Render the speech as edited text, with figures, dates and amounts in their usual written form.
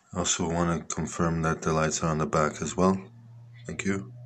I also want to confirm that the lights are on the back as well. Thank you.